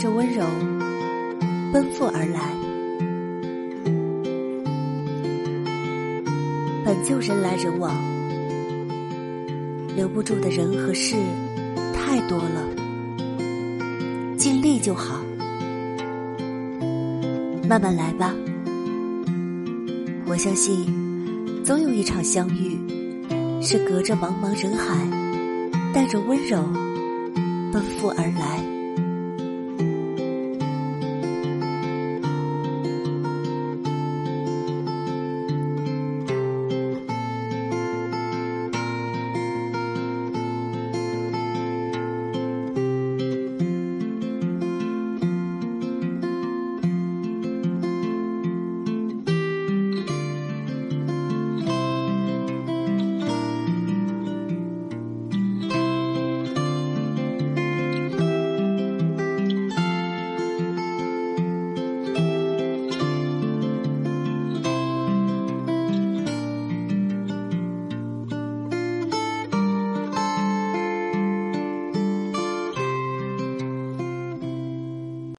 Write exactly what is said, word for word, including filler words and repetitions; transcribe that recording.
着温柔奔赴而来。本就人来人往，留不住的人和事太多了，尽力就好，慢慢来吧。我相信总有一场相遇，是隔着茫茫人海，带着温柔奔赴而来。